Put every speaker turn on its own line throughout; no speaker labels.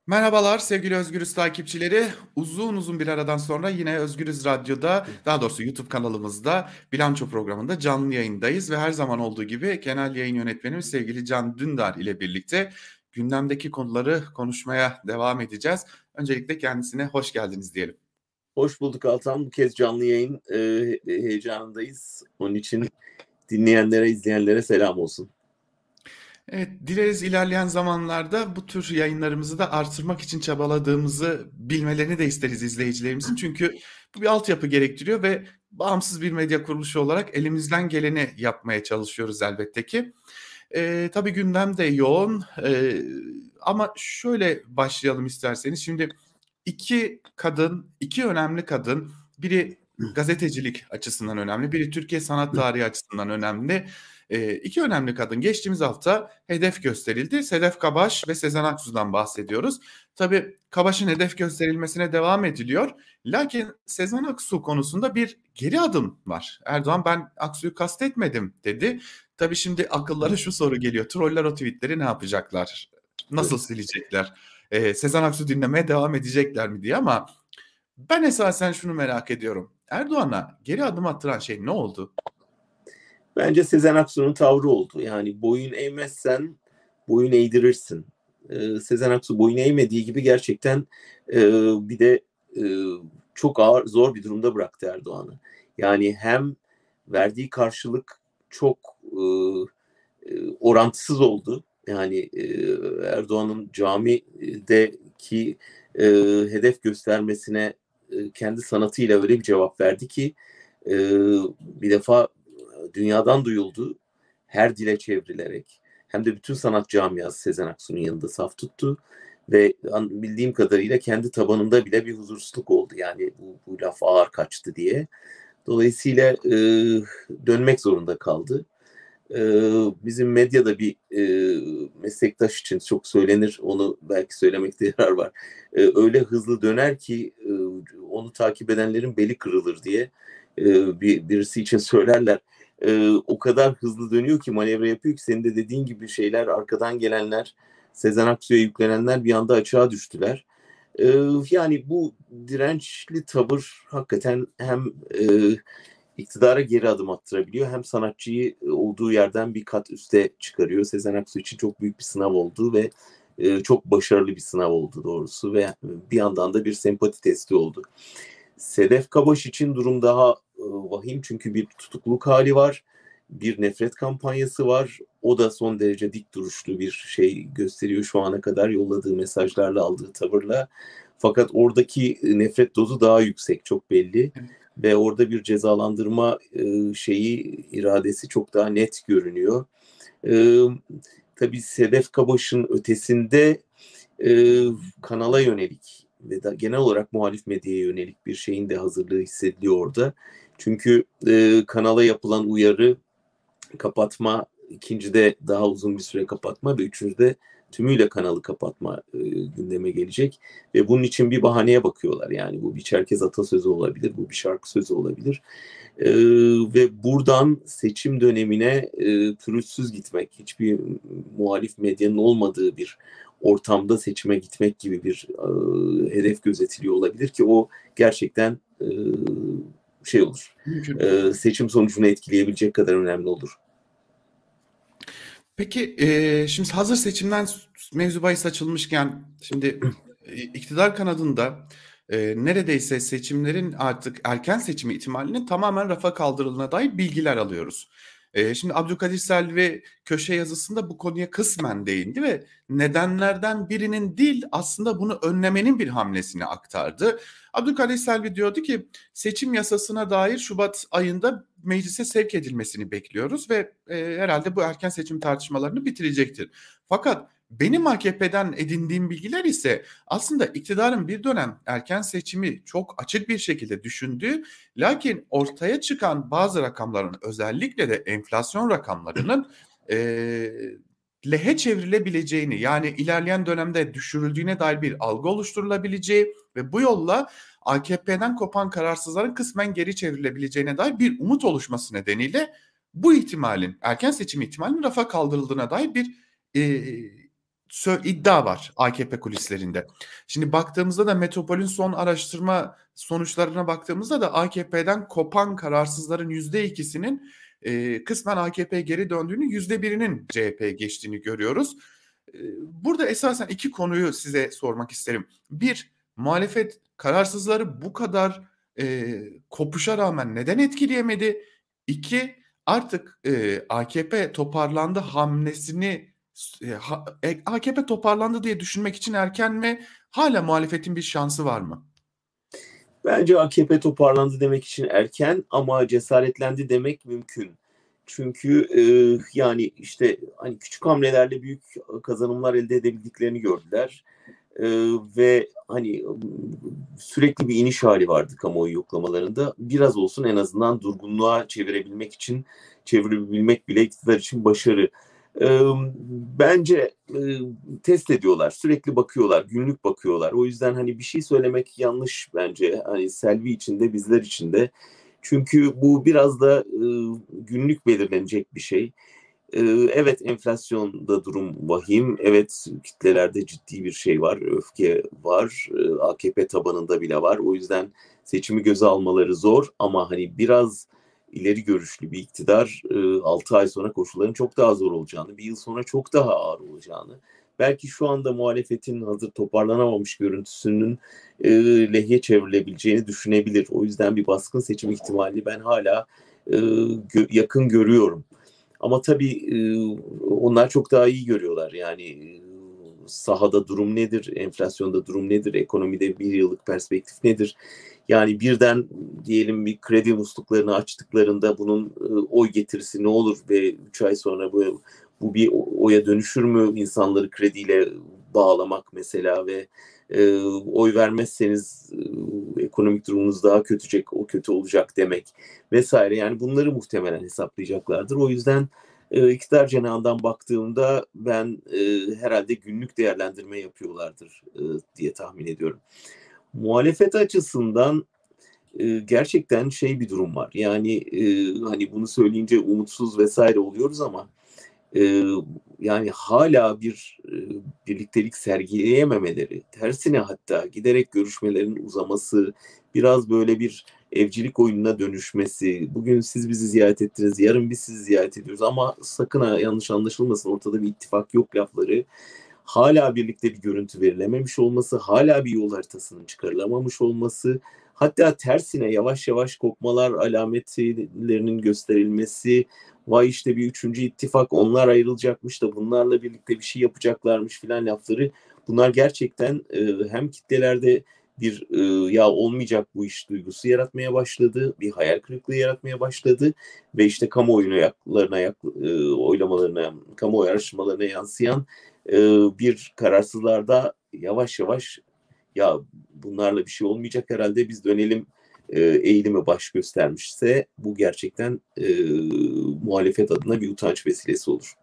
Merhabalar sevgili Özgürüz takipçileri. Uzun uzun bir aradan sonra yine Özgürüz Radyo'da, daha doğrusu YouTube kanalımızda Bilanço programında canlı yayındayız ve her zaman olduğu gibi genel yayın yönetmenimiz sevgili Can Dündar ile birlikte gündemdeki konuları konuşmaya devam edeceğiz. Öncelikle kendisine hoş geldiniz diyelim.
Hoş bulduk Altan. Bu kez canlı yayın heyecanındayız. Onun için dinleyenlere, izleyenlere selam olsun.
Evet, dileriz ilerleyen zamanlarda bu tür yayınlarımızı da artırmak için çabaladığımızı bilmelerini de isteriz izleyicilerimizin. Çünkü bu bir altyapı gerektiriyor ve bağımsız bir medya kuruluşu olarak elimizden geleni yapmaya çalışıyoruz elbette ki. Tabii gündem de yoğun. Ama şöyle başlayalım isterseniz. Şimdi iki önemli kadın, biri gazetecilik açısından önemli, biri Türkiye sanat tarihi açısından önemli. İki önemli kadın geçtiğimiz hafta hedef gösterildi. Sedef Kabaş ve Sezen Aksu'dan bahsediyoruz. Tabii Kabaş'ın hedef gösterilmesine devam ediliyor. Lakin Sezen Aksu konusunda bir geri adım var. Erdoğan ben Aksu'yu kastetmedim dedi. Tabii şimdi akıllara şu soru geliyor. Troller o tweetleri ne yapacaklar? Nasıl silecekler? Sezen Aksu dinlemeye devam edecekler mi diye ama ben esasen şunu merak ediyorum. Erdoğan'a geri adım attıran şey ne oldu?
Bence Sezen Aksu'nun tavrı oldu. Yani boyun eğmezsen boyun eğdirirsin. Sezen Aksu boyun eğmediği gibi gerçekten bir de e, çok ağır, zor bir durumda bıraktı Erdoğan'ı. Yani hem verdiği karşılık çok orantısız oldu. Yani Erdoğan'ın camideki e, hedef göstermesine kendi sanatıyla öyle bir cevap verdi ki e, bir defa dünyadan duyuldu. Her dile çevrilerek. Hem de bütün sanat camiası Sezen Aksu'nun yanında saf tuttu. Ve bildiğim kadarıyla kendi tabanında bile bir huzursuzluk oldu. Yani bu laf ağır kaçtı diye. Dolayısıyla dönmek zorunda kaldı. Bizim medyada bir meslektaş için çok söylenir, onu belki söylemekte yarar var. Öyle hızlı döner ki onu takip edenlerin beli kırılır diye birisi için söylerler. O kadar hızlı dönüyor ki, manevra yapıyor ki, senin de dediğin gibi şeyler, arkadan gelenler, Sezen Aksu'ya yüklenenler bir anda açığa düştüler. Yani bu dirençli tavır hakikaten hem iktidara geri adım attırabiliyor hem sanatçıyı olduğu yerden bir kat üste çıkarıyor. Sezen Aksu için çok büyük bir sınav oldu ve çok başarılı bir sınav oldu doğrusu ve bir yandan da bir sempati testi oldu. Sedef Kabaş için durum daha vahim, çünkü bir tutukluk hali var, bir nefret kampanyası var. O da son derece dik duruşlu bir şey gösteriyor şu ana kadar yolladığı mesajlarla, aldığı tavırla. Fakat oradaki nefret dozu daha yüksek, çok belli. Ve orada bir cezalandırma iradesi çok daha net görünüyor. E, tabii Sedef Kabaş'ın ötesinde kanala yönelik ve da genel olarak muhalif medyaya yönelik bir şeyin de hazırlığı hissediliyor orada. Çünkü kanala yapılan uyarı, kapatma, ikincide daha uzun bir süre kapatma ve üçüncüde tümüyle kanalı kapatma gündeme gelecek. Ve bunun için bir bahaneye bakıyorlar. Yani bu bir Çerkez atasözü olabilir, bu bir şarkı sözü olabilir. Ve buradan seçim dönemine pürüzsüz gitmek, hiçbir muhalif medyanın olmadığı bir ortamda seçime gitmek gibi bir hedef gözetiliyor olabilir ki o gerçekten şey olur.
Mümkün.
Seçim sonucunu etkileyebilecek kadar önemli olur.
Peki şimdi hazır seçimden mevzu bahis açılmışken şimdi iktidar kanadında neredeyse seçimlerin artık erken seçimi ihtimalinin tamamen rafa kaldırıldığına dair bilgiler alıyoruz. Şimdi Abdülkadir Selvi köşe yazısında bu konuya kısmen değindi ve nedenlerden birinin değil aslında bunu önlemenin bir hamlesini aktardı. Abdülkadir Selvi diyordu ki seçim yasasına dair Şubat ayında meclise sevk edilmesini bekliyoruz ve herhalde bu erken seçim tartışmalarını bitirecektir. Fakat benim AKP'den edindiğim bilgiler ise aslında iktidarın bir dönem erken seçimi çok açık bir şekilde düşündüğü, lakin ortaya çıkan bazı rakamların, özellikle de enflasyon rakamlarının lehe çevrilebileceğini, yani ilerleyen dönemde düşürüldüğüne dair bir algı oluşturulabileceği ve bu yolla AKP'den kopan kararsızların kısmen geri çevrilebileceğine dair bir umut oluşması nedeniyle bu ihtimalin, erken seçim ihtimalinin rafa kaldırıldığına dair bir e, iddia var AKP kulislerinde. Şimdi baktığımızda da Metropol'ün son araştırma sonuçlarına baktığımızda da AKP'den kopan kararsızların %2'sinin kısmen AKP'ye geri döndüğünü, %1'inin CHP'ye geçtiğini görüyoruz. Burada esasen iki konuyu size sormak isterim. Bir, muhalefet kararsızları bu kadar kopuşa rağmen neden etkileyemedi? İki, artık AKP toparlandı hamlesini AKP toparlandı diye düşünmek için erken mi? Hala muhalefetin bir şansı var mı?
Bence AKP toparlandı demek için erken ama cesaretlendi demek mümkün. Çünkü yani işte hani küçük hamlelerle büyük kazanımlar elde edebildiklerini gördüler. Ve hani sürekli bir iniş hali vardı kamuoyu yoklamalarında. Biraz olsun en azından durgunluğa çevirebilmek bile iktidar için başarı. Bence test ediyorlar, sürekli bakıyorlar, günlük bakıyorlar. O yüzden hani bir şey söylemek yanlış bence. Hani Selvi için de bizler için de. Çünkü bu biraz da günlük belirlenecek bir şey. Evet, enflasyonda durum vahim. Evet, kitlelerde ciddi bir şey var. Öfke var. AKP tabanında bile var. O yüzden seçimi göze almaları zor. Ama hani biraz ileri görüşlü bir iktidar 6 ay sonra koşulların çok daha zor olacağını, bir yıl sonra çok daha ağır olacağını, belki şu anda muhalefetin hazır toparlanamamış görüntüsünün lehye çevrilebileceğini düşünebilir. O yüzden bir baskın seçim ihtimali ben hala yakın görüyorum. Ama tabii onlar çok daha iyi görüyorlar. Yani sahada durum nedir, enflasyonda durum nedir, ekonomide bir yıllık perspektif nedir? Yani birden diyelim bir kredi musluklarını açtıklarında bunun oy getirisi ne olur ve 3 ay sonra bu bir oya dönüşür mü? İnsanları krediyle bağlamak mesela ve oy vermezseniz ekonomik durumunuz daha o kötü olacak demek vesaire. Yani bunları muhtemelen hesaplayacaklardır. O yüzden iktidar cenahından baktığımda ben herhalde günlük değerlendirme yapıyorlardır diye tahmin ediyorum. Muhalefet açısından gerçekten bir durum var. Yani hani bunu söyleyince umutsuz vesaire oluyoruz ama yani hala bir birliktelik sergileyememeleri, tersine hatta giderek görüşmelerin uzaması, biraz böyle bir evcilik oyununa dönüşmesi, bugün siz bizi ziyaret ettiniz, yarın biz sizi ziyaret ediyoruz ama sakın ha yanlış anlaşılmasın, ortada bir ittifak yok lafları, hala birlikte bir görüntü verilememiş olması, hala bir yol haritasının çıkarılamamış olması, hatta tersine yavaş yavaş kopmalar alametlerinin gösterilmesi, vay işte bir üçüncü ittifak, onlar ayrılacakmış da bunlarla birlikte bir şey yapacaklarmış filan lafları, bunlar gerçekten hem kitlelerde bir ya olmayacak bu iş duygusu yaratmaya başladı, bir hayal kırıklığı yaratmaya başladu ve işte oylamalarına, kamuoyu araştırmalarına yansıyan bir kararsızlarda yavaş yavaş ya bunlarla bir şey olmayacak herhalde biz dönelim eğilimi baş göstermişse bu gerçekten muhalefet adına bir utanç vesilesi olur.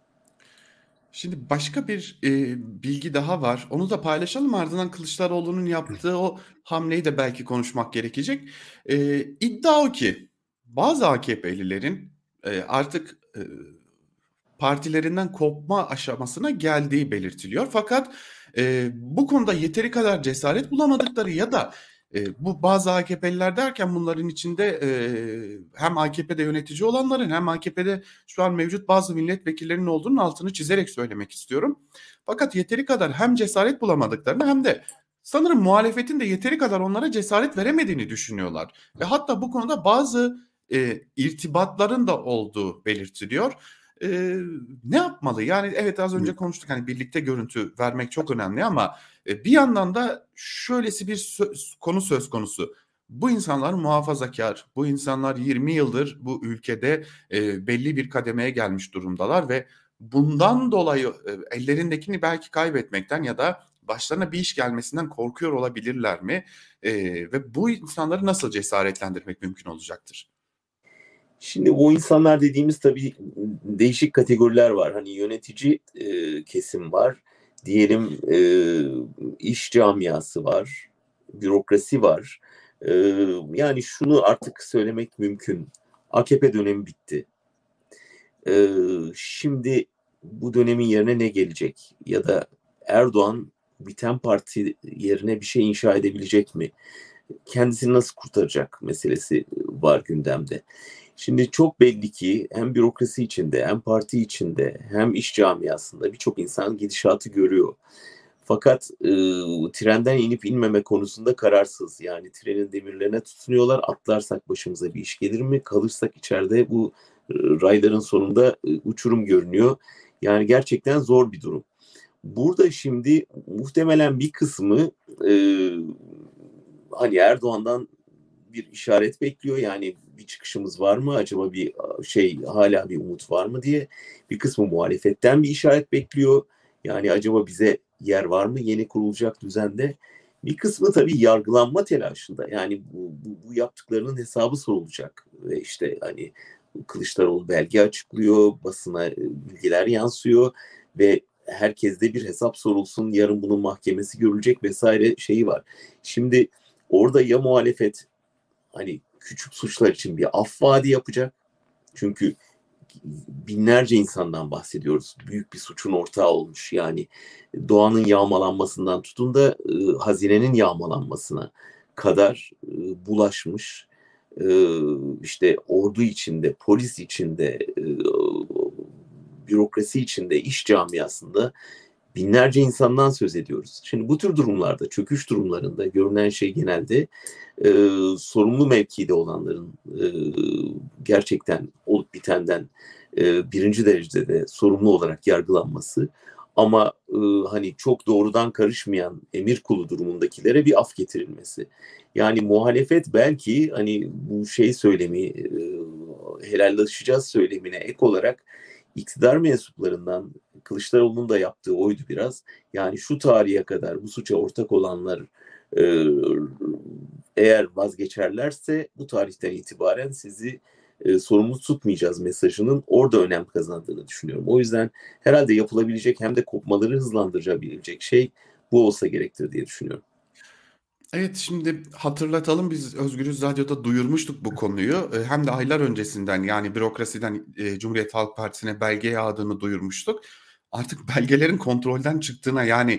Şimdi başka bir bilgi daha var. Onu da paylaşalım. Ardından Kılıçdaroğlu'nun yaptığı o hamleyi de belki konuşmak gerekecek. İddia o ki bazı AKP'lilerin artık partilerinden kopma aşamasına geldiği belirtiliyor. Fakat bu konuda yeteri kadar cesaret bulamadıkları ya da bu bazı AKP'liler derken bunların içinde hem AKP'de yönetici olanların hem AKP'de şu an mevcut bazı milletvekillerinin olduğunun altını çizerek söylemek istiyorum. Fakat yeteri kadar hem cesaret bulamadıklarını hem de sanırım muhalefetin de yeteri kadar onlara cesaret veremediğini düşünüyorlar. Ve hatta bu konuda bazı irtibatların da olduğu belirtiliyor. Ne yapmalı? Yani evet az önce konuştuk hani birlikte görüntü vermek çok önemli ama bir yandan da şöylesi bir konu söz konusu. Bu insanlar muhafazakar, bu insanlar 20 yıldır bu ülkede belli bir kademeye gelmiş durumdalar ve bundan dolayı ellerindekini belki kaybetmekten ya da başlarına bir iş gelmesinden korkuyor olabilirler mi? Ve bu insanları nasıl cesaretlendirmek mümkün olacaktır?
Şimdi o insanlar dediğimiz tabii değişik kategoriler var. Hani yönetici kesim var. Diyelim iş camiası var. Bürokrasi var. Yani şunu artık söylemek mümkün. AKP dönemi bitti. Şimdi bu dönemin yerine ne gelecek? Ya da Erdoğan biten parti yerine bir şey inşa edebilecek mi? Kendisini nasıl kurtaracak meselesi var gündemde. Şimdi çok belli ki hem bürokrasi içinde hem parti içinde hem iş camiasında birçok insan gidişatı görüyor. Fakat trenden inip inmeme konusunda kararsız. Yani trenin demirlerine tutunuyorlar. Atlarsak başımıza bir iş gelir mi? Kalırsak içeride bu rayların sonunda uçurum görünüyor. Yani gerçekten zor bir durum. Burada şimdi muhtemelen bir kısmı e, hani Erdoğan'dan bir işaret bekliyor. Yani bir çıkışımız var mı? Acaba bir hala bir umut var mı diye. Bir kısmı muhalefetten bir işaret bekliyor. Yani acaba bize yer var mı yeni kurulacak düzende? Bir kısmı tabii yargılanma telaşında. Yani bu yaptıklarının hesabı sorulacak. Ve işte hani Kılıçdaroğlu belge açıklıyor, basına bilgiler yansıyor ve herkeste bir hesap sorulsun, yarın bunun mahkemesi görülecek vesaire şeyi var. Şimdi orada ya muhalefet hani küçük suçlar için bir af vaadi yapacak. Çünkü binlerce insandan bahsediyoruz. Büyük bir suçun ortağı olmuş. Yani doğanın yağmalanmasından tutun da hazinenin yağmalanmasına kadar bulaşmış. İşte ordu içinde, polis içinde, bürokrasi içinde, iş camiasında binlerce insandan söz ediyoruz. Şimdi bu tür durumlarda, çöküş durumlarında görünen şey genelde sorumlu mevkide olanların gerçekten olup bitenden birinci derecede de sorumlu olarak yargılanması, ama hani çok doğrudan karışmayan emir kulu durumundakilere bir af getirilmesi. Yani muhalefet belki hani bu şey söylemi, helallaşacağız söylemine ek olarak iktidar mensuplarından Kılıçdaroğlu'nun da yaptığı oydu biraz. Yani şu tarihe kadar bu suça ortak olanlar e, eğer vazgeçerlerse bu tarihten itibaren sizi sorumlu tutmayacağız mesajının orada önem kazandığını düşünüyorum. O yüzden herhalde yapılabilecek hem de kopmaları hızlandırabilecek şey bu olsa gerektir diye düşünüyorum.
Evet, şimdi hatırlatalım, biz Özgürüz Radyo'da duyurmuştuk bu konuyu. Hem de aylar öncesinden, yani bürokrasiden Cumhuriyet Halk Partisi'ne belge yağdığını duyurmuştuk. Artık belgelerin kontrolden çıktığına, yani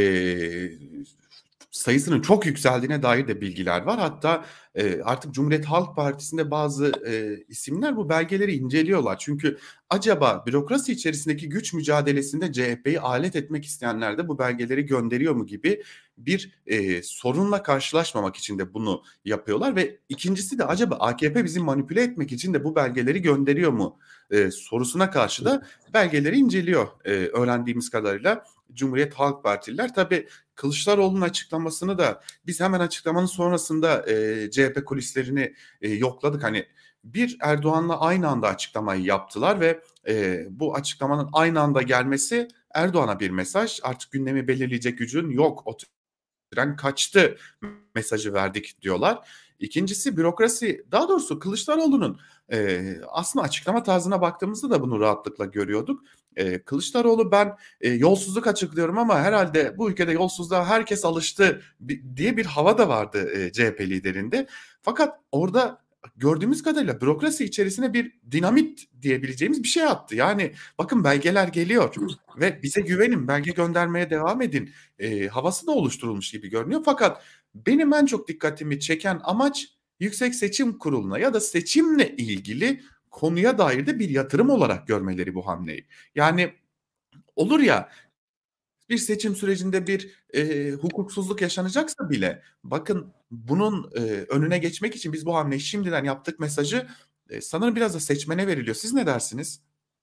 sayısının çok yükseldiğine dair de bilgiler var. Hatta artık Cumhuriyet Halk Partisi'nde bazı isimler bu belgeleri inceliyorlar. Çünkü acaba bürokrasi içerisindeki güç mücadelesinde CHP'yi alet etmek isteyenler de bu belgeleri gönderiyor mu gibi bir sorunla karşılaşmamak için de bunu yapıyorlar. Ve ikincisi de acaba AKP bizi manipüle etmek için de bu belgeleri gönderiyor mu sorusuna karşı da belgeleri inceliyor öğrendiğimiz kadarıyla Cumhuriyet Halk Partililer. Tabii Kılıçdaroğlu'nun açıklamasını da biz hemen açıklamanın sonrasında CHP kulislerini yokladık. Hani bir Erdoğan'la aynı anda açıklamayı yaptılar ve bu açıklamanın aynı anda gelmesi Erdoğan'a bir mesaj. Artık gündemi belirleyecek gücün yok, o tren kaçtı mesajı verdik diyorlar. İkincisi bürokrasi, daha doğrusu Kılıçdaroğlu'nun aslında açıklama tarzına baktığımızda da bunu rahatlıkla görüyorduk. Kılıçdaroğlu, ben yolsuzluk açıklıyorum ama herhalde bu ülkede yolsuzluğa herkes alıştı diye bir hava da vardı CHP liderinde. Fakat orada gördüğümüz kadarıyla bürokrasi içerisine bir dinamit diyebileceğimiz bir şey attı. Yani bakın, belgeler geliyor ve bize güvenin, belge göndermeye devam edin havası da oluşturulmuş gibi görünüyor. Fakat benim en çok dikkatimi çeken amaç Yüksek Seçim Kurulu'na ya da seçimle ilgili konuya dair de bir yatırım olarak görmeleri bu hamleyi. Yani olur ya, bir seçim sürecinde bir hukuksuzluk yaşanacaksa bile, bakın bunun önüne geçmek için biz bu hamleyi şimdiden yaptık mesajı sanırım biraz da seçmene veriliyor. Siz ne dersiniz?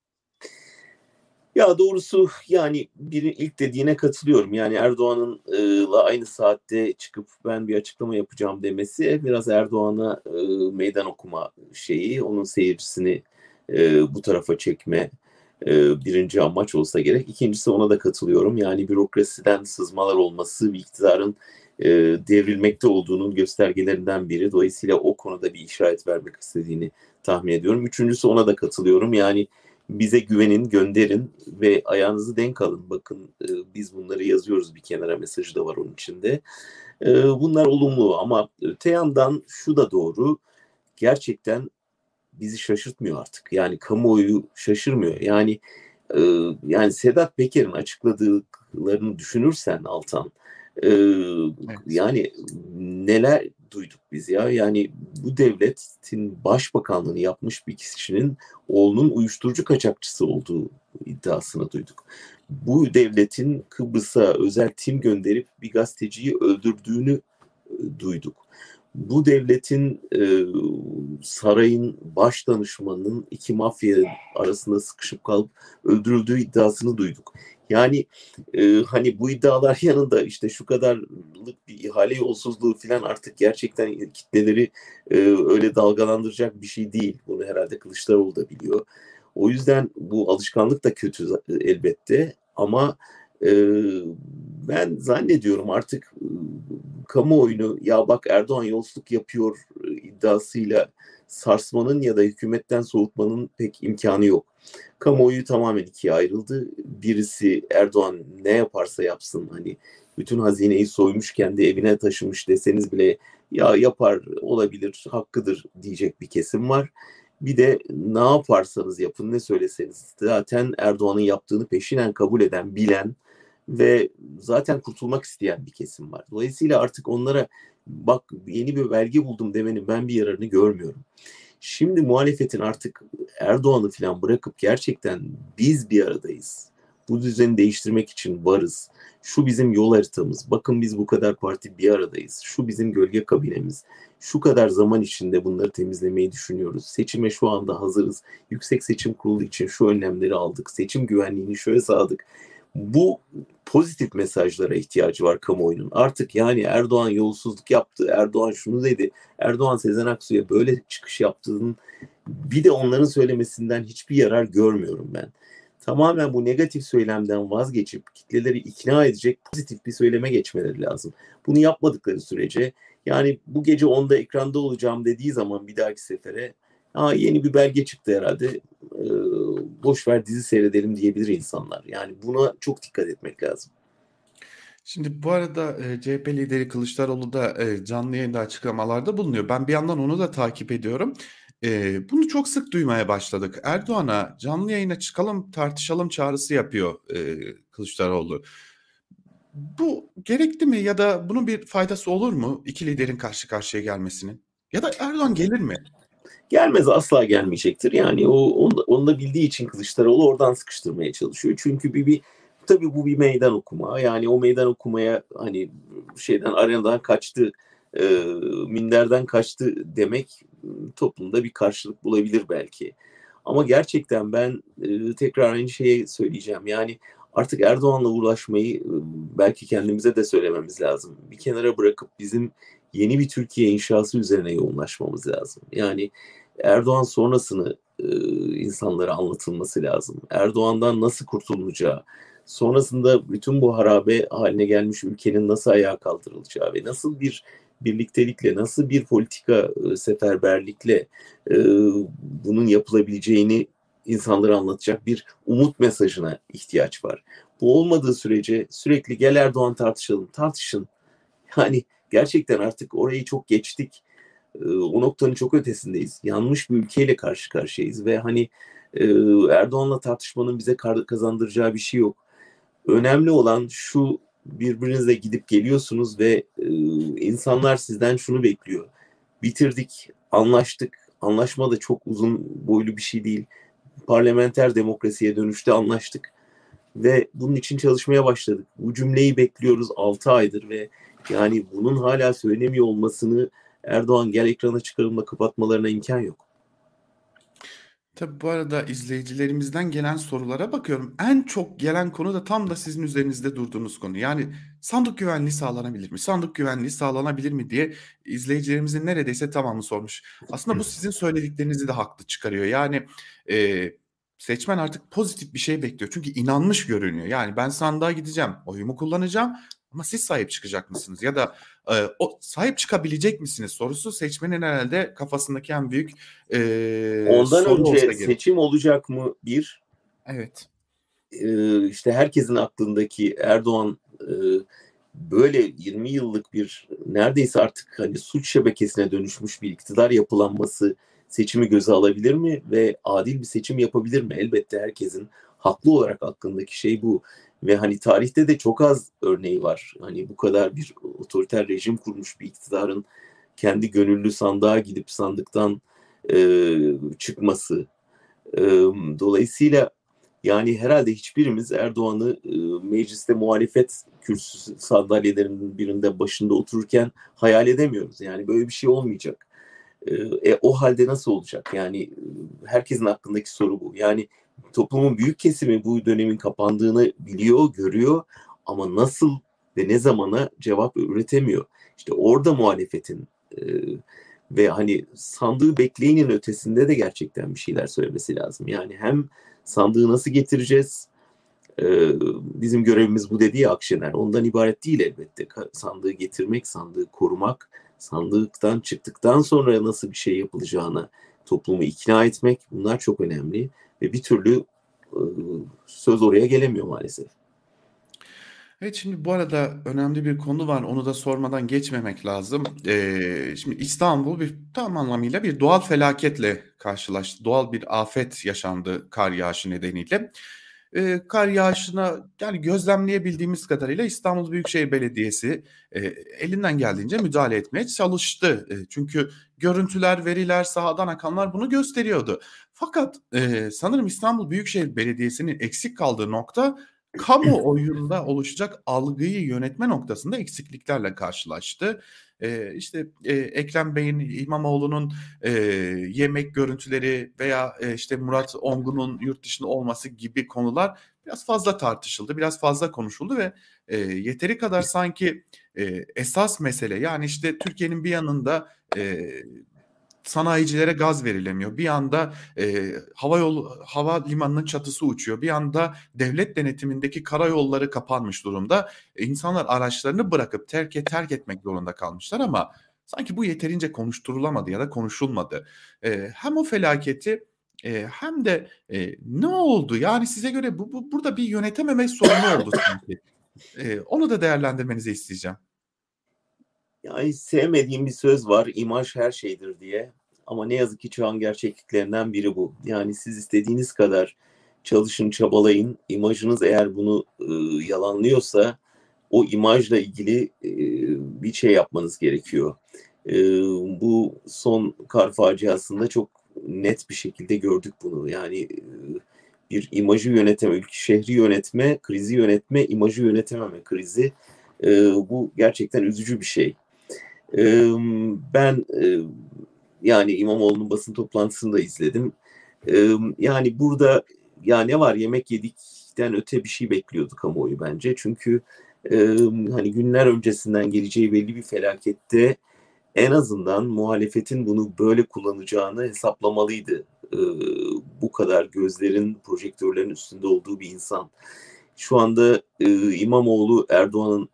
Ya doğrusu yani ilk dediğine katılıyorum. Yani Erdoğan'ınla aynı saatte çıkıp ben bir açıklama yapacağım demesi biraz Erdoğan'a meydan okuma şeyi, onun seyircisini bu tarafa çekme birinci amaç olsa gerek. İkincisi, ona da katılıyorum. Yani bürokrasiden sızmalar olması bir iktidarın devrilmekte olduğunun göstergelerinden biri. Dolayısıyla o konuda bir işaret vermek istediğini tahmin ediyorum. Üçüncüsü, ona da katılıyorum. Yani bize güvenin, gönderin ve ayağınızı denk alın. Bakın biz bunları yazıyoruz bir kenara, mesajı da var onun içinde. Bunlar olumlu, ama öte yandan şu da doğru. Gerçekten bizi şaşırtmıyor artık. Yani kamuoyu şaşırmıyor. Yani Yani Sedat Peker'in açıkladıklarını düşünürsen Altan, e,
Evet.
yani neler duyduk biz ya? Yani bu devletin başbakanlığını yapmış bir kişinin oğlunun uyuşturucu kaçakçısı olduğu iddiasını duyduk. Bu devletin Kıbrıs'a özel tim gönderip bir gazeteciyi öldürdüğünü duyduk. Bu devletin sarayın baş danışmanının iki mafya arasında sıkışıp kalıp öldürüldüğü iddiasını duyduk. Yani hani bu iddialar yanında işte şu kadarlık bir ihale yolsuzluğu falan artık gerçekten kitleleri öyle dalgalandıracak bir şey değil. Bunu herhalde Kılıçdaroğlu da biliyor. O yüzden bu alışkanlık da kötü elbette ama e, ben zannediyorum artık kamuoyunu ya bak Erdoğan yolsuzluk yapıyor iddiasıyla sarsmanın ya da hükümetten soğutmanın pek imkanı yok. Kamuoyu tamamen ikiye ayrıldı. Birisi Erdoğan ne yaparsa yapsın hani bütün hazineyi soymuş kendi evine taşımış deseniz bile ya yapar olabilir hakkıdır diyecek bir kesim var. Bir de ne yaparsanız yapın ne söyleseniz zaten Erdoğan'ın yaptığını peşinen kabul eden bilen ve zaten kurtulmak isteyen bir kesim var. Dolayısıyla artık onlara bak yeni bir belge buldum demenin ben bir yararını görmüyorum. Şimdi muhalefetin artık Erdoğan'ı falan bırakıp gerçekten biz bir aradayız. Bu düzeni değiştirmek için varız. Şu bizim yol haritamız. Bakın biz bu kadar parti bir aradayız. Şu bizim gölge kabinemiz. Şu kadar zaman içinde bunları temizlemeyi düşünüyoruz. Seçime şu anda hazırız. Yüksek Seçim Kurulu için şu önlemleri aldık. Seçim güvenliğini şöyle sağladık. Bu pozitif mesajlara ihtiyacı var kamuoyunun. Artık yani Erdoğan yolsuzluk yaptı, Erdoğan şunu dedi, Erdoğan Sezen Aksu'ya böyle çıkış yaptığının bir de onların söylemesinden hiçbir yarar görmüyorum ben. Tamamen bu negatif söylemden vazgeçip kitleleri ikna edecek pozitif bir söyleme geçmeleri lazım. Bunu yapmadıkları sürece yani bu gece 10'da ekranda olacağım dediği zaman bir dahaki sefere yeni bir belge çıktı herhalde. Boş ver dizi seyredelim diyebilir insanlar. Yani buna çok dikkat etmek lazım.
Şimdi bu arada CHP lideri Kılıçdaroğlu da canlı yayında açıklamalarda bulunuyor. Ben bir yandan onu da takip ediyorum. Bunu çok sık duymaya başladık. Erdoğan'a canlı yayına çıkalım tartışalım çağrısı yapıyor Kılıçdaroğlu. Bu gerekli mi ya da bunun bir faydası olur mu iki liderin karşı karşıya gelmesinin? Ya da Erdoğan gelir mi?
Gelmez, asla gelmeyecektir. Yani onu da bildiği için Kılıçdaroğlu oradan sıkıştırmaya çalışıyor. Çünkü tabii bu bir meydan okuma. Yani o meydan okumaya hani şeyden arenadan kaçtı, e, minderden kaçtı demek toplumda bir karşılık bulabilir belki. Ama gerçekten ben tekrar aynı şeyi söyleyeceğim. Yani artık Erdoğan'la uğraşmayı belki kendimize de söylememiz lazım. Bir kenara bırakıp bizim yeni bir Türkiye inşası üzerine yoğunlaşmamız lazım. Yani Erdoğan sonrasını insanlara anlatılması lazım. Erdoğan'dan nasıl kurtulunacağı, sonrasında bütün bu harabe haline gelmiş ülkenin nasıl ayağa kaldırılacağı ve nasıl bir birliktelikle, nasıl bir politika seferberlikle e, bunun yapılabileceğini insanlara anlatacak bir umut mesajına ihtiyaç var. Bu olmadığı sürece sürekli gel Erdoğan tartışalım, tartışın. Yani gerçekten artık orayı çok geçtik. O noktanın çok ötesindeyiz. Yanlış bir ülkeyle karşı karşıyayız ve hani e, Erdoğan'la tartışmanın bize kazandıracağı bir şey yok. Önemli olan şu, birbirinizle gidip geliyorsunuz ve insanlar sizden şunu bekliyor. Bitirdik, anlaştık. Anlaşma da çok uzun boylu bir şey değil. Parlamenter demokrasiye dönüşte anlaştık ve bunun için çalışmaya başladık. Bu cümleyi bekliyoruz 6 aydır ve yani bunun hala söylemiyor olmasını Erdoğan gel ekrana çıkarımla kapatmalarına imkan yok.
Tabii bu arada izleyicilerimizden gelen sorulara bakıyorum. En çok gelen konu da tam da sizin üzerinizde durduğunuz konu. Yani sandık güvenliği sağlanabilir mi? Sandık güvenliği sağlanabilir mi diye izleyicilerimizin neredeyse tamamı sormuş. Aslında bu sizin söylediklerinizi de haklı çıkarıyor. Yani e, seçmen artık pozitif bir şey bekliyor. Çünkü inanmış görünüyor. Yani ben sandığa gideceğim, oyumu kullanacağım ama siz sahip çıkacak mısınız? Ya da o sahip çıkabilecek misiniz sorusu seçmenin herhalde kafasındaki en büyük
Ondan
soru
önce
olsa gerek.
seçim olacak mı?
Evet.
İşte herkesin aklındaki Erdoğan böyle 20 yıllık bir neredeyse artık hani suç şebekesine dönüşmüş bir iktidar yapılanması seçimi göze alabilir mi ve adil bir seçim yapabilir mi? Elbette herkesin haklı olarak aklındaki şey bu. Ve hani tarihte de çok az örneği var. Hani bu kadar bir otoriter rejim kurmuş bir iktidarın kendi gönüllü sandığa gidip sandıktan çıkması. E, Dolayısıyla yani herhalde hiçbirimiz Erdoğan'ı mecliste muhalefet kürsüsü sandalyelerinin birinde başında otururken hayal edemiyoruz. Yani böyle bir şey olmayacak. O halde nasıl olacak? Yani herkesin aklındaki soru bu. Yani toplumun büyük kesimi bu dönemin kapandığını biliyor, görüyor ama nasıl ve ne zamana cevap üretemiyor. İşte orada muhalefetin e, ve hani sandığı bekleyinin ötesinde de gerçekten bir şeyler söylemesi lazım. Yani hem sandığı nasıl getireceğiz? Bizim görevimiz bu dedi ya Akşener. Ondan ibaret değil elbette. Sandığı getirmek, sandığı korumak, sandıktan çıktıktan sonra nasıl bir şey yapılacağına toplumu ikna etmek, bunlar çok önemli. Ve bir türlü e, söz oraya gelemiyor maalesef.
Evet, şimdi bu arada önemli bir konu var. Onu da sormadan geçmemek lazım. Şimdi İstanbul tam anlamıyla bir doğal felaketle karşılaştı. Doğal bir afet yaşandı kar yağışı nedeniyle. Kar yağışına yani gözlemleyebildiğimiz kadarıyla İstanbul Büyükşehir Belediyesi e, elinden geldiğince müdahale etmeye çalıştı. Çünkü görüntüler, veriler, sahadan akanlar bunu gösteriyordu. Fakat sanırım İstanbul Büyükşehir Belediyesi'nin eksik kaldığı nokta kamuoyunda oluşacak algıyı yönetme noktasında eksikliklerle karşılaştı. İşte Ekrem Bey'in İmamoğlu'nun yemek görüntüleri veya işte Murat Ongun'un yurt dışında olması gibi konular biraz fazla tartışıldı, biraz fazla konuşuldu ve yeteri kadar sanki esas mesele yani işte Türkiye'nin bir yanında sanayicilere gaz verilemiyor. Bir anda hava limanının çatısı uçuyor. Bir anda devlet denetimindeki karayolları kapanmış durumda. İnsanlar araçlarını bırakıp terk etmek zorunda kalmışlar ama sanki bu yeterince konuşturulamadı ya da konuşulmadı. Hem o felaketi hem de ne oldu? Yani size göre burada bir yönetememe sorunu oldu sanki. Onu da değerlendirmenizi isteyeceğim.
Yani sevmediğim bir söz var, imaj her şeydir diye. Ama ne yazık ki çağın gerçekliklerinden biri bu. Yani siz istediğiniz kadar çalışın, çabalayın. İmajınız eğer bunu yalanlıyorsa o imajla ilgili bir şey yapmanız gerekiyor. E, Bu son kar faciasında çok net bir şekilde gördük bunu. Yani bir imajı yöneteme, ülke şehri yönetme, krizi yönetme, imajı yönetememe krizi. Bu gerçekten üzücü bir şey. Ben yani İmamoğlu'nun basın toplantısını da izledim. Yani burada ya ne var yemek yedikten öte bir şey bekliyordu kamuoyu bence. Çünkü hani günler öncesinden geleceği belli bir felakette en azından muhalefetin bunu böyle kullanacağını hesaplamalıydı. Bu kadar gözlerin, projektörlerin üstünde olduğu bir insan. Şu anda İmamoğlu Erdoğan'ın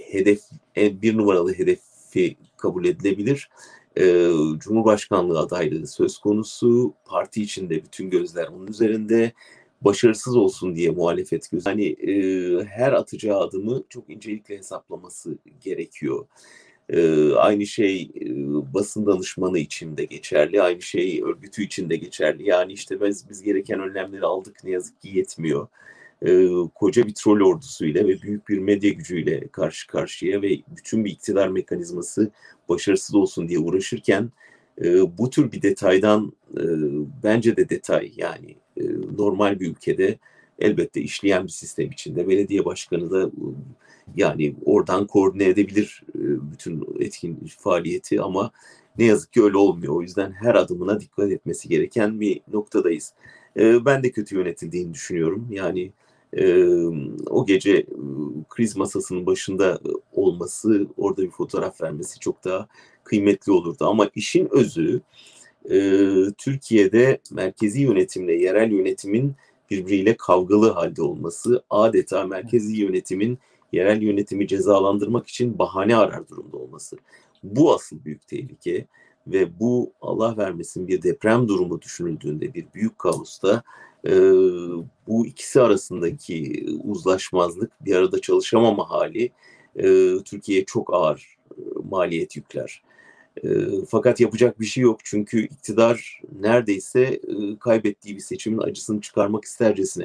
bir numaralı hedefi kabul edilebilir. Cumhurbaşkanlığı adaylığı söz konusu. Parti içinde bütün gözler onun üzerinde. Başarısız olsun diye muhalefet gözü. Hani her atacağı adımı çok incelikle hesaplaması gerekiyor. Aynı şey basın danışmanı için de geçerli. Aynı şey örgütü için de geçerli. Yani işte biz gereken önlemleri aldık ne yazık ki yetmiyor. Koca bir troll ordusuyla ve büyük bir medya gücüyle karşı karşıya ve bütün bir iktidar mekanizması başarısız olsun diye uğraşırken bu tür bir detaydan bence de detay yani normal bir ülkede elbette işleyen bir sistem içinde belediye başkanı da yani oradan koordine edebilir bütün etkin faaliyeti ama ne yazık ki öyle olmuyor. O yüzden her adımına dikkat etmesi gereken bir noktadayız. Ben de kötü yönetildiğini düşünüyorum. Yani o gece kriz masasının başında olması, orada bir fotoğraf vermesi çok daha kıymetli olurdu. Ama işin özü Türkiye'de merkezi yönetimle yerel yönetimin birbiriyle kavgalı halde olması, adeta merkezi yönetimin yerel yönetimi cezalandırmak için bahane arar durumda olması. Bu asıl büyük tehlike ve bu Allah vermesin bir deprem durumu düşünüldüğünde bir büyük kaosta e, bu ikisi arasındaki uzlaşmazlık, bir arada çalışamama hali Türkiye'ye çok ağır maliyet yükler. Fakat yapacak bir şey yok çünkü iktidar neredeyse kaybettiği bir seçimin acısını çıkarmak istercesine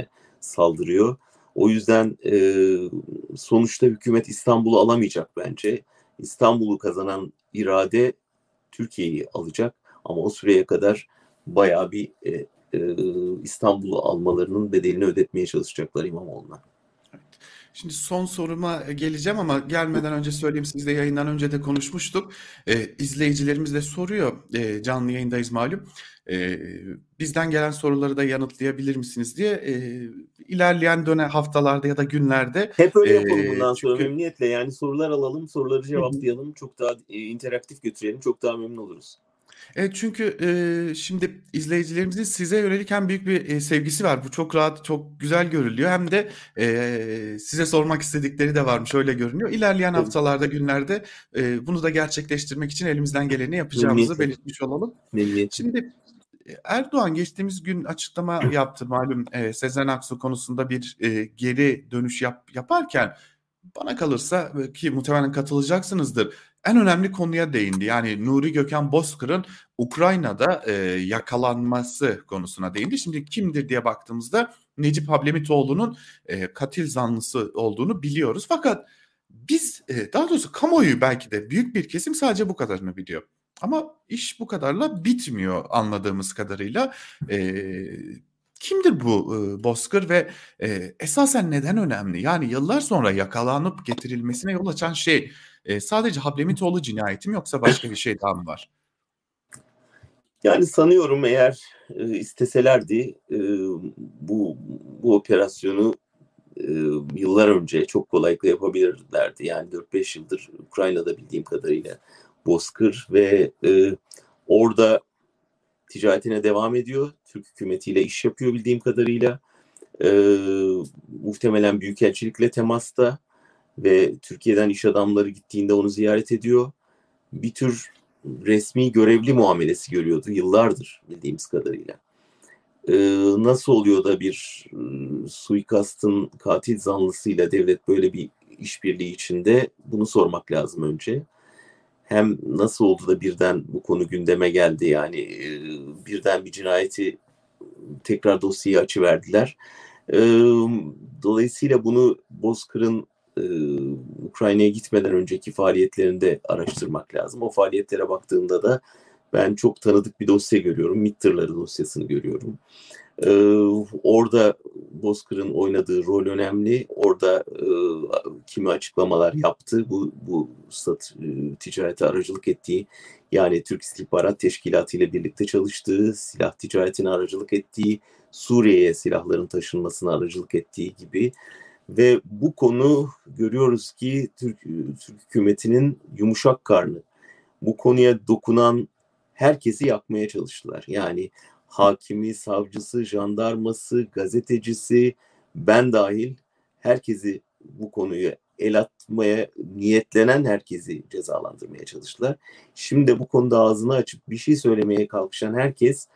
saldırıyor. O yüzden sonuçta hükümet İstanbul'u alamayacak bence. İstanbul'u kazanan irade Türkiye'yi alacak. Ama o süreye kadar bayağı bir İstanbul'u almalarının bedelini ödetmeye çalışacaklar İmamoğlu'na.
Şimdi son soruma geleceğim ama gelmeden önce söyleyeyim, siz de yayından önce de konuşmuştuk. İzleyicilerimiz de soruyor, canlı yayındayız malum. Bizden gelen soruları da yanıtlayabilir misiniz diye. İlerleyen haftalarda ya da günlerde.
Hep öyle yapalım bundan sonra
Çünkü
memnuniyetle. Yani sorular alalım, soruları
Hı hı.
cevaplayalım. Çok daha interaktif götürelim. Çok daha memnun oluruz.
Evet, çünkü şimdi izleyicilerimizin size yönelik hem büyük bir sevgisi var. Bu çok rahat, çok güzel görülüyor. Hem de size sormak istedikleri de varmış, öyle görünüyor. İlerleyen
Tabii,
haftalarda, günlerde bunu da gerçekleştirmek için elimizden geleni yapacağımızı
memnuniyetle.
belirtmiş olalım.
Memnuniyetle.
Şimdi Erdoğan geçtiğimiz gün açıklama yaptı malum, Sezen Aksu konusunda bir geri dönüş yaparken, bana kalırsa ki muhtemelen katılacaksınızdır, en önemli konuya değindi. Yani Nuri Gökhan Bozkır'ın Ukrayna'da yakalanması konusuna değindi. Şimdi kimdir diye baktığımızda Necip Hablemitoğlu'nun katil zanlısı olduğunu biliyoruz. Fakat biz, daha doğrusu kamuoyu, belki de büyük bir kesim sadece bu kadarını biliyor. Ama iş bu kadarla bitmiyor anladığımız kadarıyla. Kimdir bu Bozkır ve esasen neden önemli? Yani yıllar sonra yakalanıp getirilmesine yol açan şey sadece Hablemitoğlu cinayeti mi, yoksa başka bir şey daha mı var?
Yani sanıyorum eğer isteselerdi bu operasyonu yıllar önce çok kolaylıkla yapabilirlerdi. Yani 4-5 yıldır Ukrayna'da bildiğim kadarıyla Bozkır ve orada ticaretine devam ediyor. Türk hükümetiyle iş yapıyor bildiğim kadarıyla. Muhtemelen büyükelçilikle temasta ve Türkiye'den iş adamları gittiğinde onu ziyaret ediyor. Bir tür resmi görevli muamelesi görüyordu yıllardır bildiğimiz kadarıyla. Nasıl oluyor da bir suikastın katil zanlısıyla devlet böyle bir işbirliği içinde, bunu sormak lazım önce. Hem nasıl oldu da birden bu konu gündeme geldi, yani birden bir cinayeti tekrar dosyayı açıverdiler. Dolayısıyla bunu Bozkır'ın Ukrayna'ya gitmeden önceki faaliyetlerinde araştırmak lazım. O faaliyetlere baktığımda da ben çok tanıdık bir dosya görüyorum. MİT tırları dosyasını görüyorum. Orada Bozkır'ın oynadığı rol önemli. Orada kimi açıklamalar yaptı. Bu ticarete aracılık ettiği, yani Türk İstihbarat Teşkilatı ile birlikte çalıştığı, silah ticaretine aracılık ettiği, Suriye'ye silahların taşınmasına aracılık ettiği gibi. Ve bu konu, görüyoruz ki Türk hükümetinin yumuşak karnı. Bu konuya dokunan herkesi yakmaya çalıştılar. Yani hakimi, savcısı, jandarması, gazetecisi, ben dahil herkesi, bu konuyu el atmaya niyetlenen herkesi cezalandırmaya çalıştılar. Şimdi bu konuda ağzını açıp bir şey söylemeye kalkışan herkes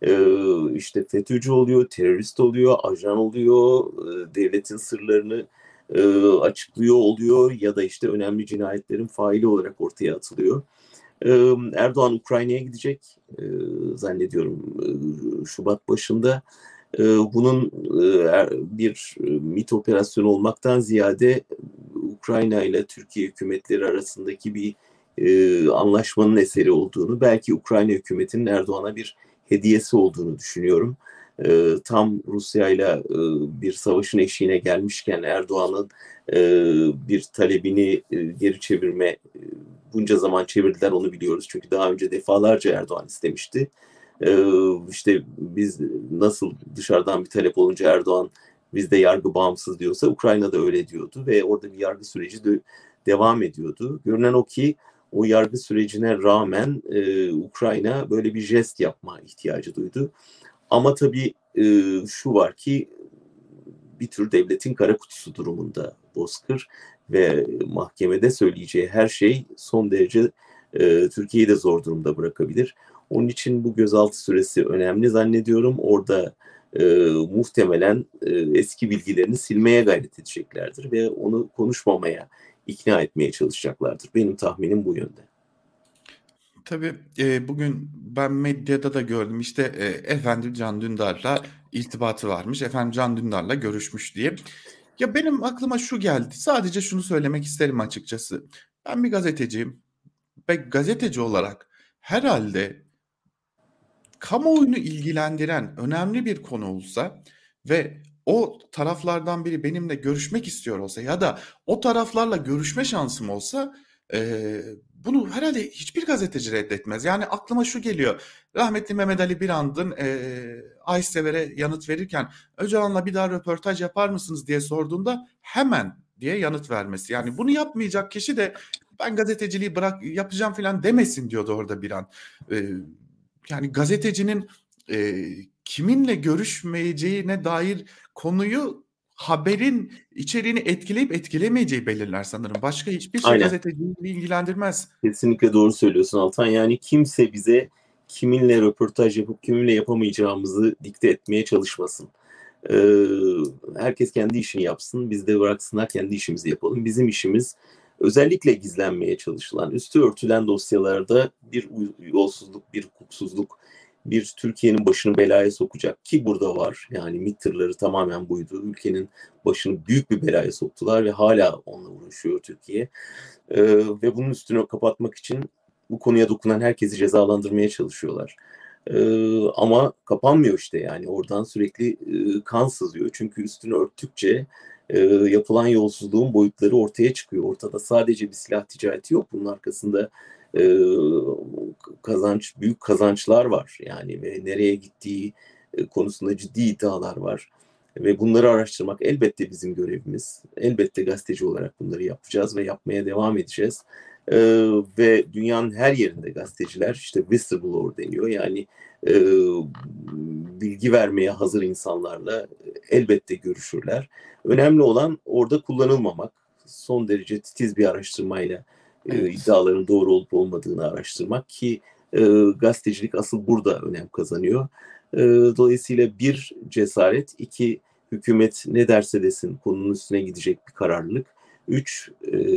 işte FETÖ'cü oluyor, terörist oluyor, ajan oluyor, devletin sırlarını açıklıyor oluyor ya da işte önemli cinayetlerin faili olarak ortaya atılıyor. Erdoğan Ukrayna'ya gidecek zannediyorum Şubat başında. Bunun bir MİT operasyonu olmaktan ziyade Ukrayna ile Türkiye hükümetleri arasındaki bir anlaşmanın eseri olduğunu, belki Ukrayna hükümetinin Erdoğan'a bir hediyesi olduğunu düşünüyorum. Tam Rusya ile bir savaşın eşiğine gelmişken Erdoğan'ın bir talebini geri çevirme, bunca zaman çevirdiler, onu biliyoruz. Çünkü daha önce defalarca Erdoğan istemişti. İşte biz nasıl dışarıdan bir talep olunca Erdoğan bizde yargı bağımsız diyorsa, Ukrayna'da öyle diyordu ve orada bir yargı süreci de devam ediyordu. Görünen o ki o yargı sürecine rağmen Ukrayna böyle bir jest yapma ihtiyacı duydu. Ama tabii şu var ki bir tür devletin kara kutusu durumunda Bozkır ve mahkemede söyleyeceği her şey son derece Türkiye'yi de zor durumda bırakabilir. Onun için bu gözaltı süresi önemli zannediyorum. Orada muhtemelen eski bilgilerini silmeye gayret edeceklerdir ve onu konuşmamaya ikna etmeye çalışacaklardır. Benim tahminim bu yönde.
Tabii, bugün ben medyada da gördüm, işte, efendim Can Dündar'la irtibatı varmış, efendim Can Dündar'la görüşmüş diye. Ya, benim aklıma şu geldi, sadece şunu söylemek isterim açıkçası. Ben bir gazeteciyim ve gazeteci olarak herhalde kamuoyunu ilgilendiren önemli bir konu olsa ve o taraflardan biri benimle görüşmek istiyor olsa ya da o taraflarla görüşme şansım olsa, bunu herhalde hiçbir gazeteci reddetmez. Yani aklıma şu geliyor, rahmetli Mehmet Ali Birand'ın, Aysever'e yanıt verirken "Öcalan'la bir daha röportaj yapar mısınız?" diye sorduğunda "Hemen." diye yanıt vermesi. Yani bunu yapmayacak kişi de "Ben gazeteciliği yapacağım." filan demesin diyordu orada Birand. Eee Yani gazetecinin, kiminle görüşmeyeceğine dair konuyu haberin içeriğini etkileyip etkilemeyeceği belirler sanırım. Başka hiçbir şey
Aynen.
gazeteciyi ilgilendirmez.
Kesinlikle doğru söylüyorsun Altan. Yani kimse bize kiminle röportaj yapıp kiminle yapamayacağımızı dikte etmeye çalışmasın. Ee, Herkes kendi işini yapsın. Biz de bıraksınlar kendi işimizi yapalım. Bizim işimiz özellikle gizlenmeye çalışılan, üstü örtülen dosyalarda bir yolsuzluk, bir hukuksuzluk, bir Türkiye'nin başını belaya sokacak ki burada var. Yani MİT tırları tamamen buydu. Ülkenin başını büyük bir belaya soktular ve hala onunla uğraşıyor Türkiye. Ve bunun üstünü kapatmak için bu konuya dokunan herkesi cezalandırmaya çalışıyorlar. Ama kapanmıyor işte yani oradan sürekli kan sızıyor. Çünkü üstünü örttükçe yapılan yolsuzluğun boyutları ortaya çıkıyor. Ortada sadece bir silah ticareti yok. Bunun arkasında e, büyük kazançlar var. Yani ve nereye gittiği konusunda ciddi iddialar var. Ve bunları araştırmak elbette bizim görevimiz. Elbette gazeteci olarak bunları yapacağız ve yapmaya devam edeceğiz. Ve dünyanın her yerinde gazeteciler işte whistleblower deniyor. Yani e, bilgi vermeye hazır insanlarla elbette görüşürler. Önemli olan orada kullanılmamak. Son derece titiz bir araştırmayla
Evet.
iddiaların doğru olup olmadığını araştırmak ki gazetecilik asıl burada önem kazanıyor. E, Dolayısıyla bir cesaret, iki hükümet ne derse desin konunun üstüne gidecek bir kararlılık. Üç,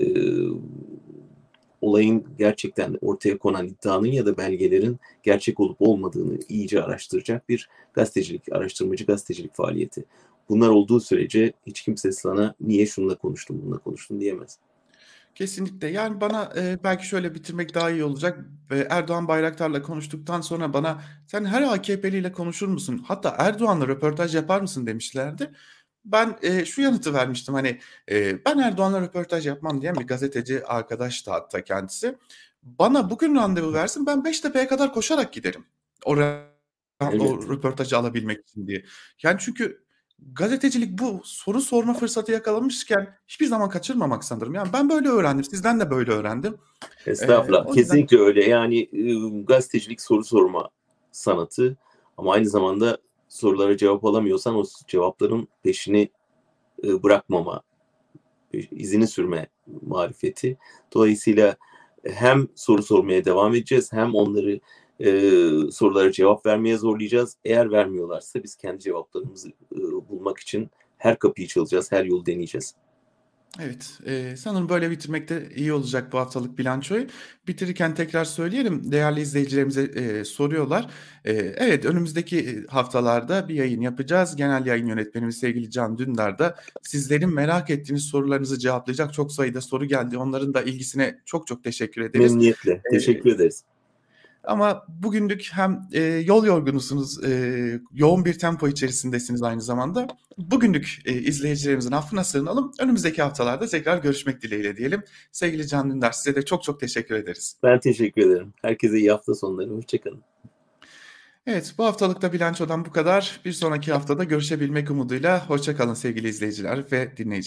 olayın gerçekten ortaya konan iddianın ya da belgelerin gerçek olup olmadığını iyice araştıracak bir gazetecilik, araştırmacı gazetecilik faaliyeti. Bunlar olduğu sürece hiç kimse sana niye şununla konuştun, bununla konuştun diyemez.
Kesinlikle. Yani bana, belki şöyle bitirmek daha iyi olacak. Erdoğan Bayraktar'la konuştuktan sonra bana "Sen her AKP'liyle konuşur musun? Hatta Erdoğan'la röportaj yapar mısın?" demişlerdi. Ben, şu yanıtı vermiştim, hani, "Ben Erdoğan'la röportaj yapmam." diyen bir gazeteci arkadaştı hatta kendisi. Bana bugün randevu versin, ben Beştepe'ye kadar koşarak giderim. O
Elbette.
röportajı alabilmek için diye. Yani çünkü gazetecilik bu. Soru sorma fırsatı yakalamışken hiçbir zaman kaçırmamak sanırım. Yani ben böyle öğrendim. Sizden de böyle öğrendim.
Estağfurullah.
O yüzden
Kesinlikle öyle. Yani gazetecilik soru sorma sanatı ama aynı zamanda sorulara cevap alamıyorsan o cevapların peşini bırakmama, izini sürme marifeti. Dolayısıyla hem soru sormaya devam edeceğiz hem onları sorulara cevap vermeye zorlayacağız. Eğer vermiyorlarsa biz kendi cevaplarımızı bulmak için her kapıyı çalacağız, her yolu deneyeceğiz.
evet, sanırım böyle bitirmek de iyi olacak bu haftalık bilançoyu. Bitirirken tekrar söyleyelim, değerli izleyicilerimize, soruyorlar. Evet, önümüzdeki haftalarda bir yayın yapacağız. Genel yayın yönetmenimiz sevgili Can Dündar da sizlerin merak ettiğiniz sorularınızı cevaplayacak. Çok sayıda soru geldi. Onların da ilgisine çok çok teşekkür ederiz.
Memnuniyetle.
Eee
Teşekkür ederiz.
Ama bugünlük hem, yol yorgunusunuz, yoğun bir tempo içerisindesiniz aynı zamanda. Bugünlük, izleyicilerimizin affına sığınalım. Önümüzdeki haftalarda tekrar görüşmek dileğiyle diyelim. Sevgili Can Dündar, size de çok çok teşekkür ederiz.
Ben teşekkür ederim. Herkese iyi hafta sonları. Hoşçakalın.
Evet, bu haftalık da bilançodan bu kadar. Bir sonraki haftada görüşebilmek umuduyla hoşça kalın sevgili izleyiciler ve dinleyiciler.